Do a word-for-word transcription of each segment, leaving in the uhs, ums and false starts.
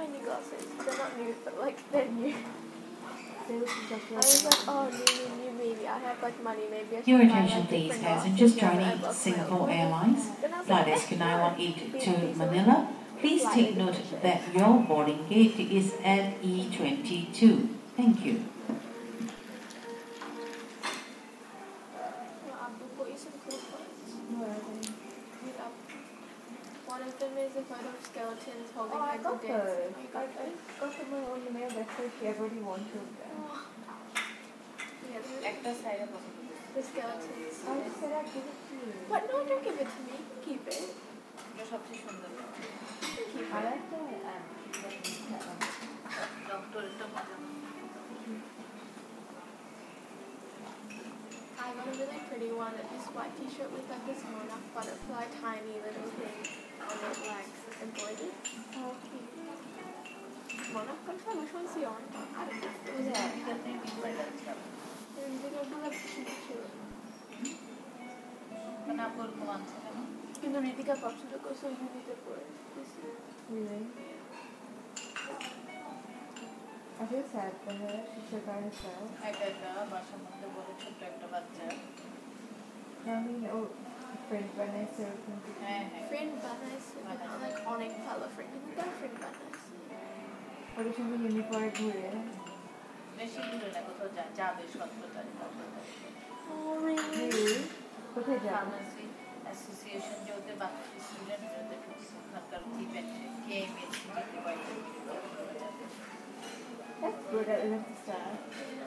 new glasses. They're not new, but like they're new. I was like, oh, new, new, new, maybe I have like money, maybe I should Your buy, attention like, please, different passengers glasses. Yeah, but I joining lost my Singapore old Airlines, Then I was flight like, S Q eh, nine one eight no. to These are like Manila. Please flight take note edition. that your boarding gate is at E twenty-two. Thank you. Well, Abdul bought you some cool clothes. What are they? Meet up. One of them is a photo of skeletons holding Oh, I hands got and dancing. those. Oh, you I, got I those? got them on the mail yesterday. She already wanted them. Oh. Yeah, the, একটা সাইডে পছন্দ the skeletons. I said I'd give it to you. What? No, don't give it to me. You can keep it. এটা সবচেয়ে সুন্দর You can keep I it. like the um, that one. ডক্টরেরটা মজা না I got a really pretty one. This white t-shirt with like this monarch butterfly, tiny little thing on it, like embroidered. Oh, cute. Monarch butterfly? Which one's the orange one? I don't know. It was Yeah. like এটাতে different আছে and they got like cute, cute. মানে আপু ওরকম আনছে কেন কিন্তু ঋতিকা পছন্দ করছে ওই জুনিতে পরে বেশি। Really? I feel sad for her. She should by herself. একা একা বাসার মধ্যে বড় ছোট্ট একটা বাচ্চা I mean, oh, friend Vanessa. হ্যাঁ হ্যাঁ Friend বানাইছে but not like অনেক ভালো friend কিন্তু তার friend বানাইছে। ওদের সঙ্গে ইউনিফর্মে ঘুরে। বেশি দূরে না কোথাও যায় যাবে সতেরো তারিখ Oh really? Really? কোথায় যাবে? ফার্মাসি অ্যাসোসিয়েশন যে ওদের বাচ্চা স্টুডেন্ট ওদের ওখানকার ইভেন্টে কেএমএসি যেতে পারে That's good. I love the start.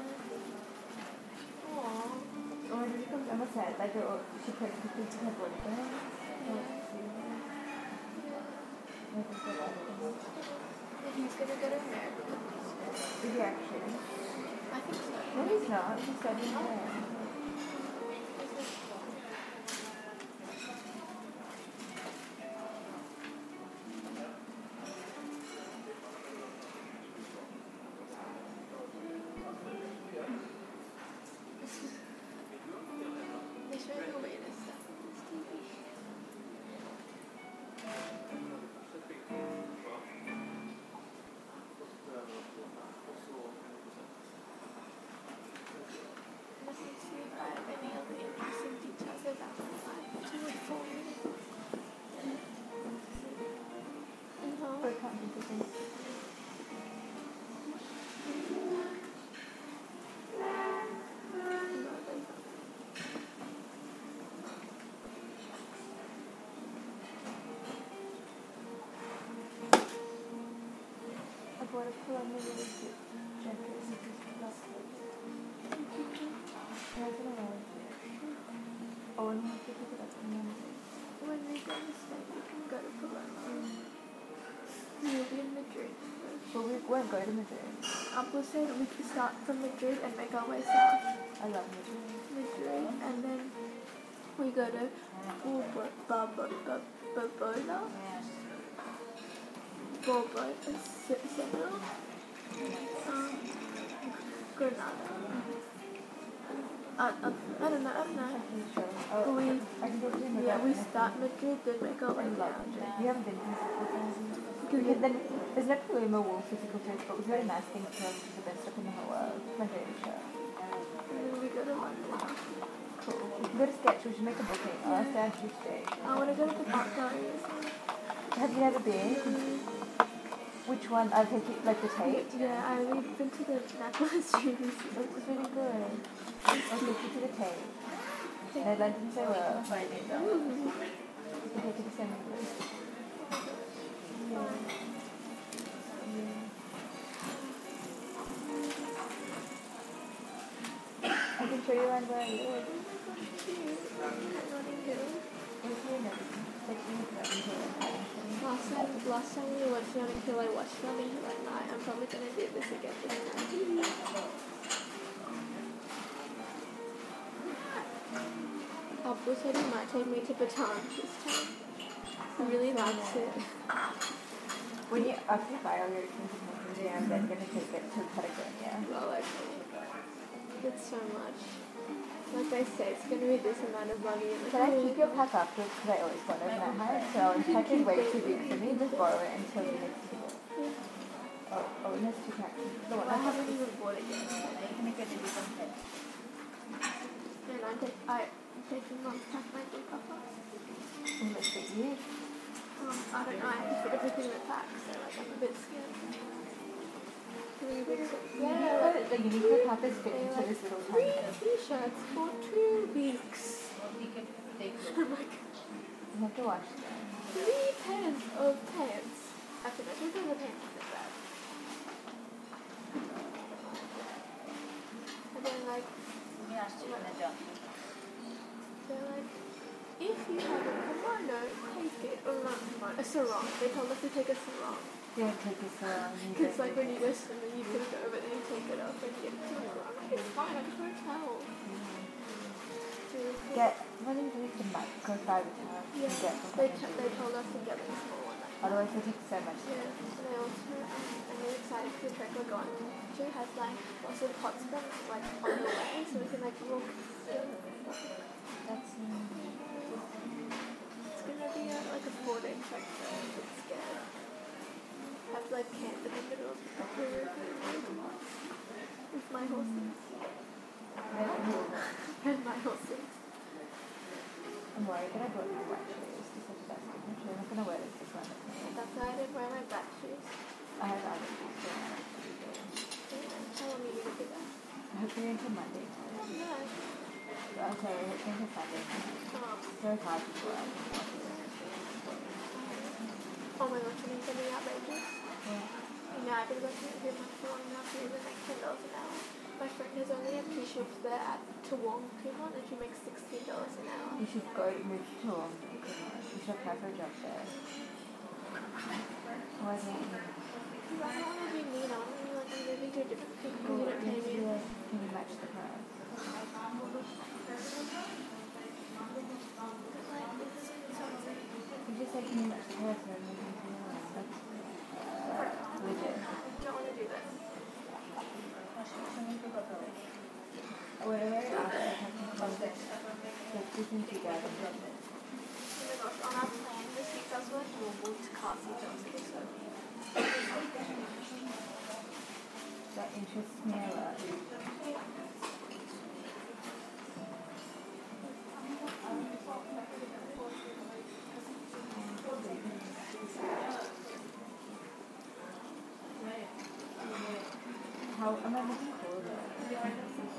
Aww. Or did it come? I'm sad. Like, oh, she put the kids in her boyfriend. Oh, He's gonna go to America. is he actually? I think so. No, he's not. He's studying there. They show you the latest stuff on this T V. Let me see if I have any other interesting details about my life to inform me. Uh-huh. For competition. I bought a Columbia really cute jacket. This is lovely. Yeah, it's gonna wear it. Oh, and we have to pick it up on Monday. When we go to Spain, we can go to Palermo. We'll be in Madrid first. But we won't go to Madrid. Apple said we could start from Madrid and make our way south. I love Madrid. Madrid, and then we go to Bobo- Bobo- Bobo- Bogota, Bogota, Se- Senegal, um, Granada. Uh, uh, I don't know, I don't know. I'm sure. Oh, We- I can go to Madrid. Yeah, we start Madrid, then make our way I love down. Madrid. You haven't been to Madrid. Because Because then there's no Paloma Wall physical church, but it was very nice thing to know, which is the best stuff in the whole world. My favorite show. And then we go to London. Cool. We can go to Sketch, we should make a booking. I'll ask Dad to stay. I want to go to the art gallery or something. Have you ever been? Which one? I'll take you, like the Tate? Yeah, I we've been to the Natural History Museum. It was really good. I'll take you to the Tate. No, London so well. You can take you to Senegal. Yeah. Yeah. I can show you around where I live. Where's your nose? Like, you look at me here. Last time, last time we watched Notting Hill, I watched Notting Hill at night. I'm probably gonna do this again this night. Abdul said he might take me to Baton this time. He really likes it. When you after you buy all your expensive things, yeah, I'm then gonna take it to Patagonia. Well, okay. It's so much. Like they say, it's gonna be this amount of money. And Can I keep your pack afterwards? Because I always want to overnight hide. So I'll pack it way too big for me. Just borrow it until the next visit. has two taxes. The one I I have haven't even bought it yet. এখানে কেটে দিতাম তাই। And I'm, take, I, I'm taking mom's tax my book off. in the state year. Um, I don't know, I have to put everything in the tax, so like I'm a bit scared. Three weeks. Yeah, but the Uniqlo top is fit into this little Three tiny. t-shirts for two weeks. ওদিকে দেখলো। I'm like, You have to wash them. three pairs of pants. Actually, no, two pairs of pants is bad. And then like, তুমি আসছো না যাও। they're like, if you have a kimono, take it. Or not kimono, a sarong. They told us to take a sarong. Yeah, take this around. Because like when you go swimming, you put it over, but then you take it off and you get it to the sarong. I'm like, it's fine, I just want to towel. Get one of these the microfiber towels you Yeah, can get from they, Cotton t- they Juice. told us to get a small one. Like, Otherwise it takes so much. yeah, and they also, um, I'm really excited because the trek we're going to has like lots of hot springs like on the way, so we can like walk. That's um, It's gonna be a, like a four day trek, so I'm a bit scared. Have to like camp in the middle of the river with my horses and my horses. I'm worried that I brought my white shoes to such a best condition. I'm not gonna wear this this one. That's why I didn't wear my black shoes. I have other shoes so I have to do that. How long are you gonna do that? Hopefully until Monday. Yeah. I'm sorry, hopefully until Sunday. Um, It's very hard to go out. oh my gosh, you need something outrageous? Yeah. Yeah, I've been working at him for long enough to even like ten dollars an hour. My friend has only had two shifts there at Toowong, Kumon, and she makes sixteen dollars an hour. You should go to move to Toulon. You should apply for a job there. Why don't you? Because I don't want to be mean, I want to be like, I'm moving to a different people who don't pay me. Yeah, can you match the price? You just say, can you match the price or moving to Toulon? That's uh, legit. I don't want to do this. Whatever after I have to come back, like two things together. Oh my gosh, on our plan this week, I was going to move to Castle Johnson, so. That interests me a lot. How am I looking cool though?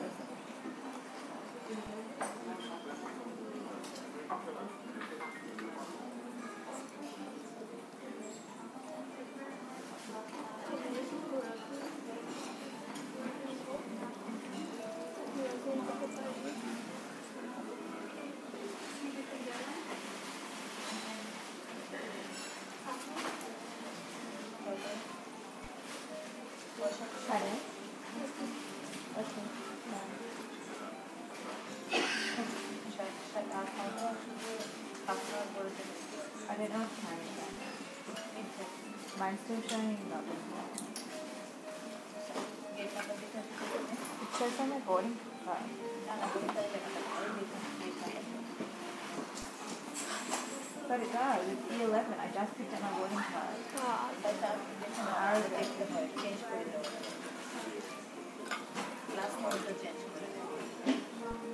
Pardon? Okay. I don't know what time it is. Mine's still showing nothing. It says on the boarding card. But it does. It's E eleven. I just picked up my boarding card. Ah, An hour ago. Last month the change করে দেব।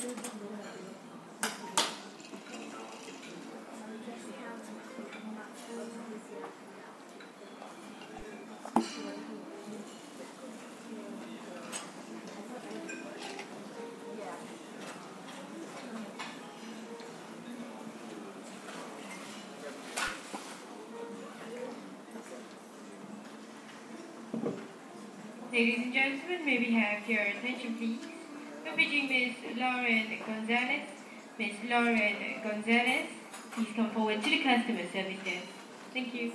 Ladies and gentlemen, may we have your attention, please? Befitting Miss Lauren Gonzalez. Miss Lauren Gonzalez, please come forward to the customer service desk. Thank you.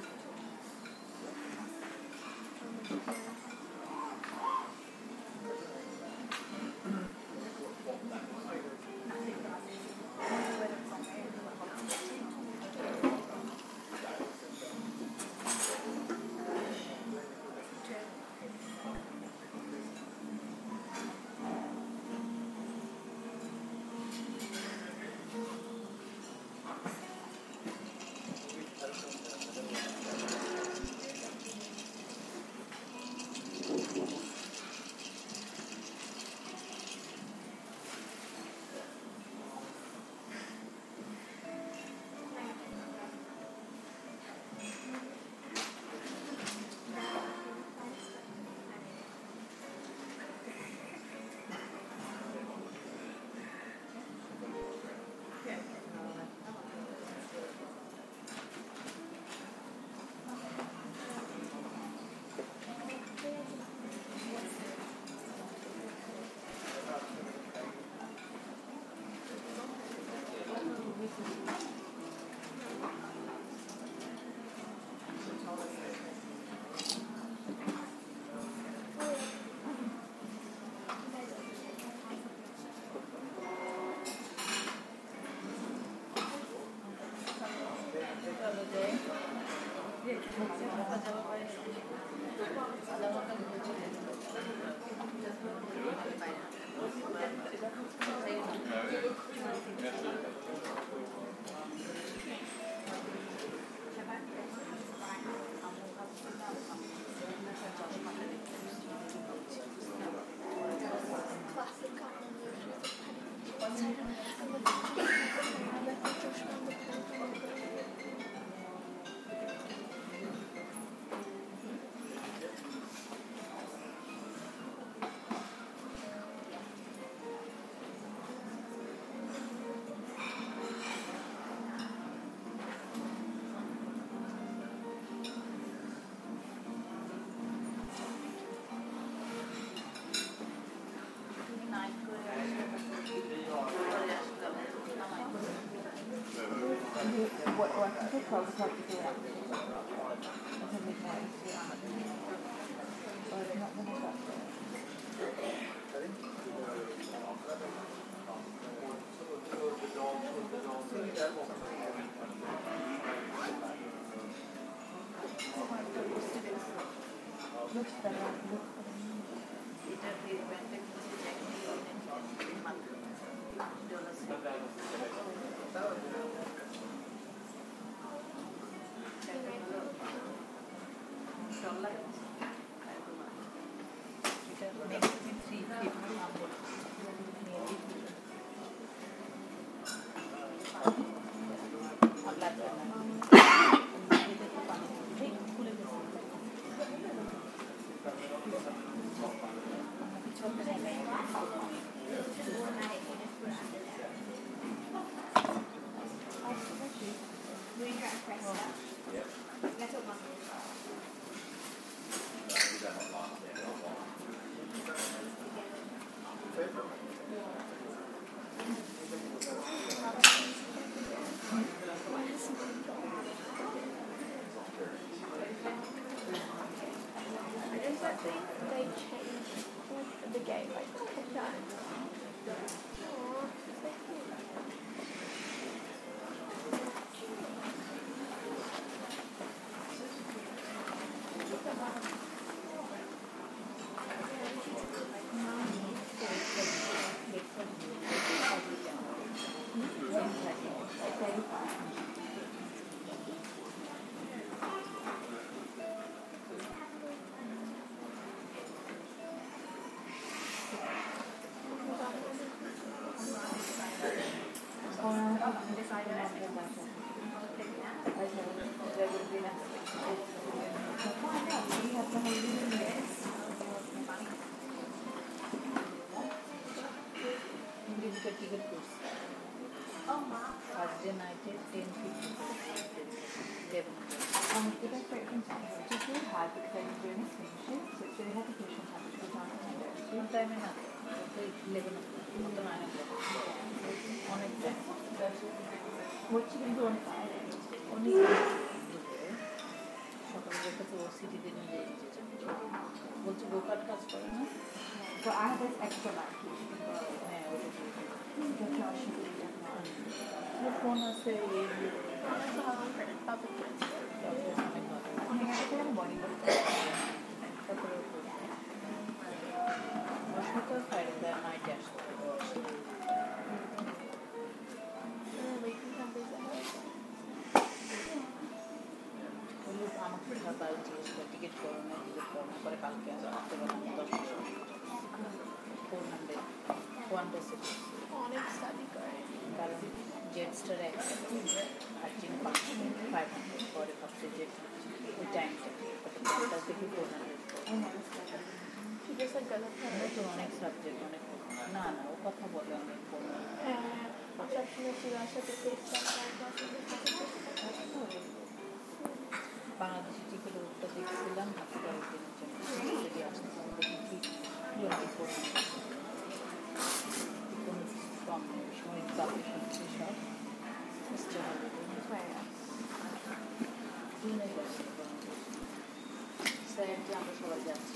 What, what I think I'll have to do it after until midnight. Or it's not going to stop looks better, looks Okay, there will be next week. Find out. We have the whole evening there. English का ticket course. Thursday night at ten fifty. eleven. Um, it is very intense. Which is really hard because I didn't do any swim so it's really hard to push on time to go down to Monday. Full time ना तो eleven मतलब nine o'clock. অনেক time. What you can do on Friday? অনেক সকালে যেটা তো সিটিতে নিয়ে যেতে বলছে গোকাট কাজ করে না So I have this extra life. হ্যাঁ ওটা Get your option to do that now. Phone আছে এই Also, how long for public transport? অনেক ভালো I mean, I can morning. তারপরে সকাল ফ্রাইডে দেয় নাইট আসতে And then we can come visit her. বললো আমাকে সকাল জিজ্ঞেস করে টিকিট করো না টিকিট করো না পরে কালকে আসো রাত্রেবেলা আমি দশটার সময় four hundred one day city অনেক study করে। কারণ জেট স্টার একসাথে আর জিম পাঁচশো ফাইভ হান্ড্রেড পরে ভাবছে জেট ওই টাইমটা ওটা থেকে four hundred She just like goes up to her. তো অনেক সাবজেক্ট অনেক না না ও কথা বলে অনেক হ্যাঁ, সবসময় শিলার সাথে FaceTime করে। বাংলাদেশি টিকিট ওটা দেখছিলাম হাসপাতাল দিনের জন্য যদি আসতে দেখি টোয়েন্টি ফোর কোনো কম নেই সময় কাপড় শুনছি সব বুঝতে হবে জুনে যাচ্ছে স্যার যে আমরা সবাই যাচ্ছি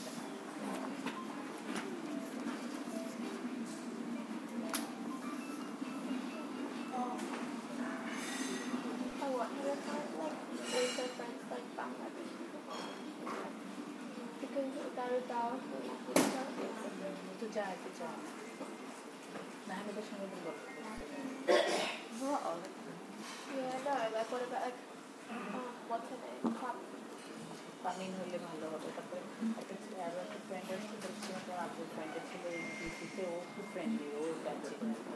I wonder if I like older friends like Bangladesh because তারা যাওয়ার সময় তো যায় তো যায় না আমি তো সঙ্গে গল্প Yeah, no, like what about like um, what's her name? Pop. পামিন হলে ভালো হবে তারপরে একটা আরও একটা ফ্রেন্ড আসছে দেখছি আমার আপুর ফ্রেন্ডের ছিল এই ডিউটিতে ও খুব ফ্রেন্ডলি ও যাচ্ছে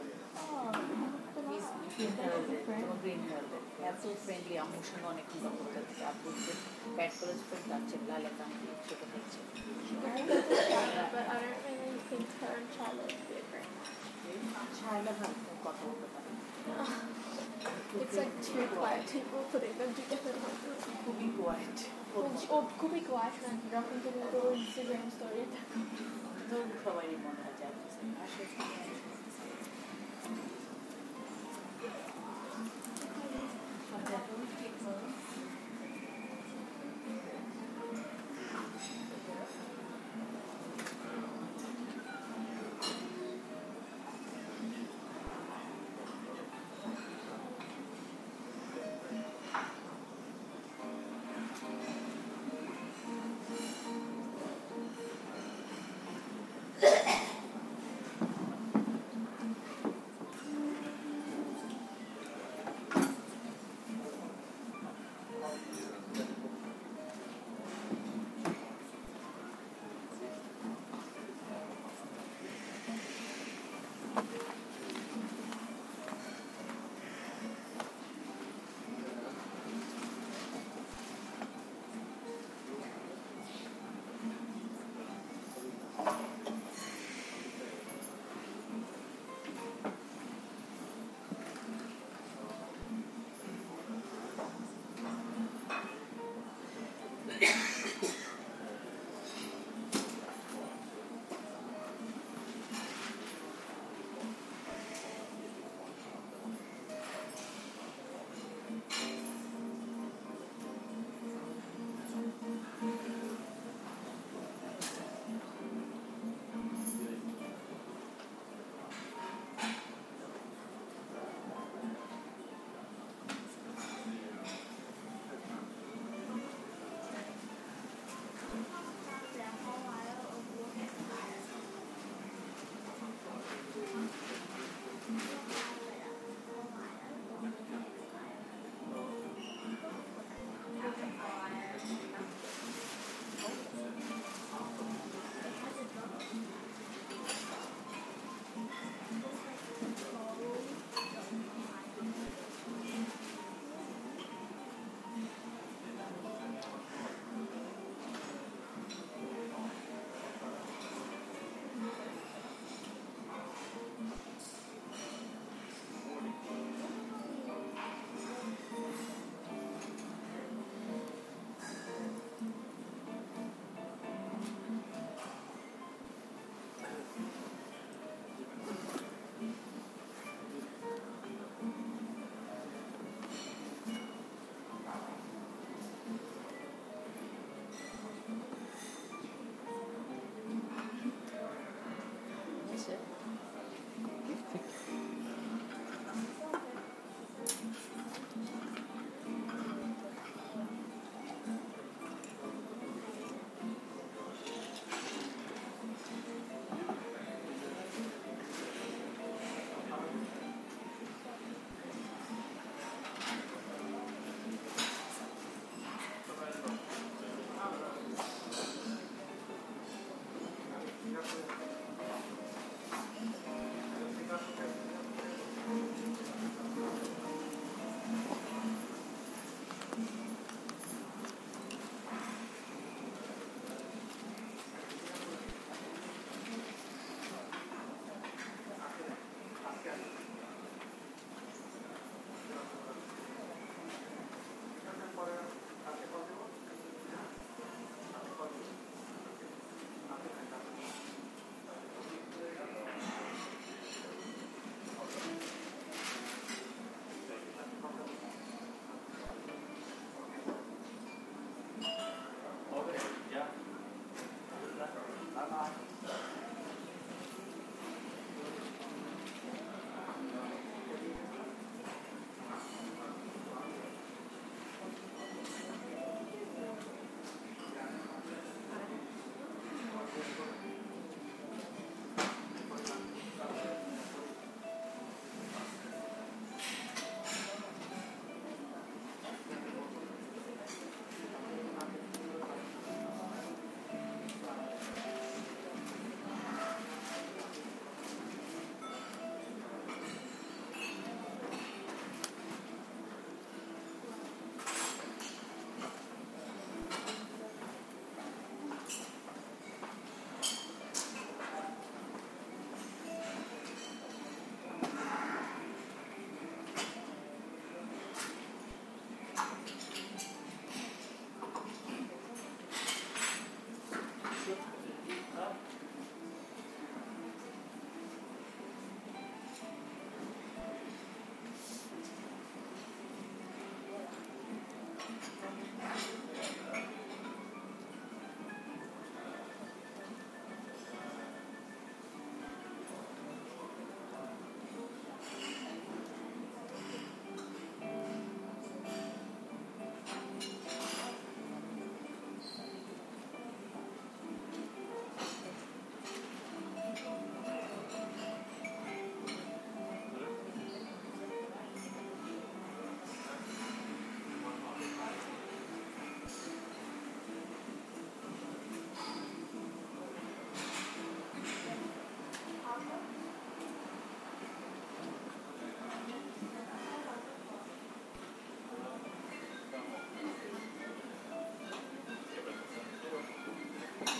গ্রিন ওয়ার্ল্ডে এত ফ্রেন্ডলি আমার সঙ্গে অনেক গল্প করতে আপুর যে ব্যাট কলেজ ফ্রেন্ড যাচ্ছে লাল একটা আমি ছোটো হচ্ছে But I don't really think her and Charlotte would be a great match. ছাড়লে ভালো কথা বলতে পারে It's like two quiet people putting them together. খুবই quite Or could be quiet and যখন তুমি ওর Instagram story দেখো তো সবারই মনে হয় যে আসে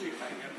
是海洋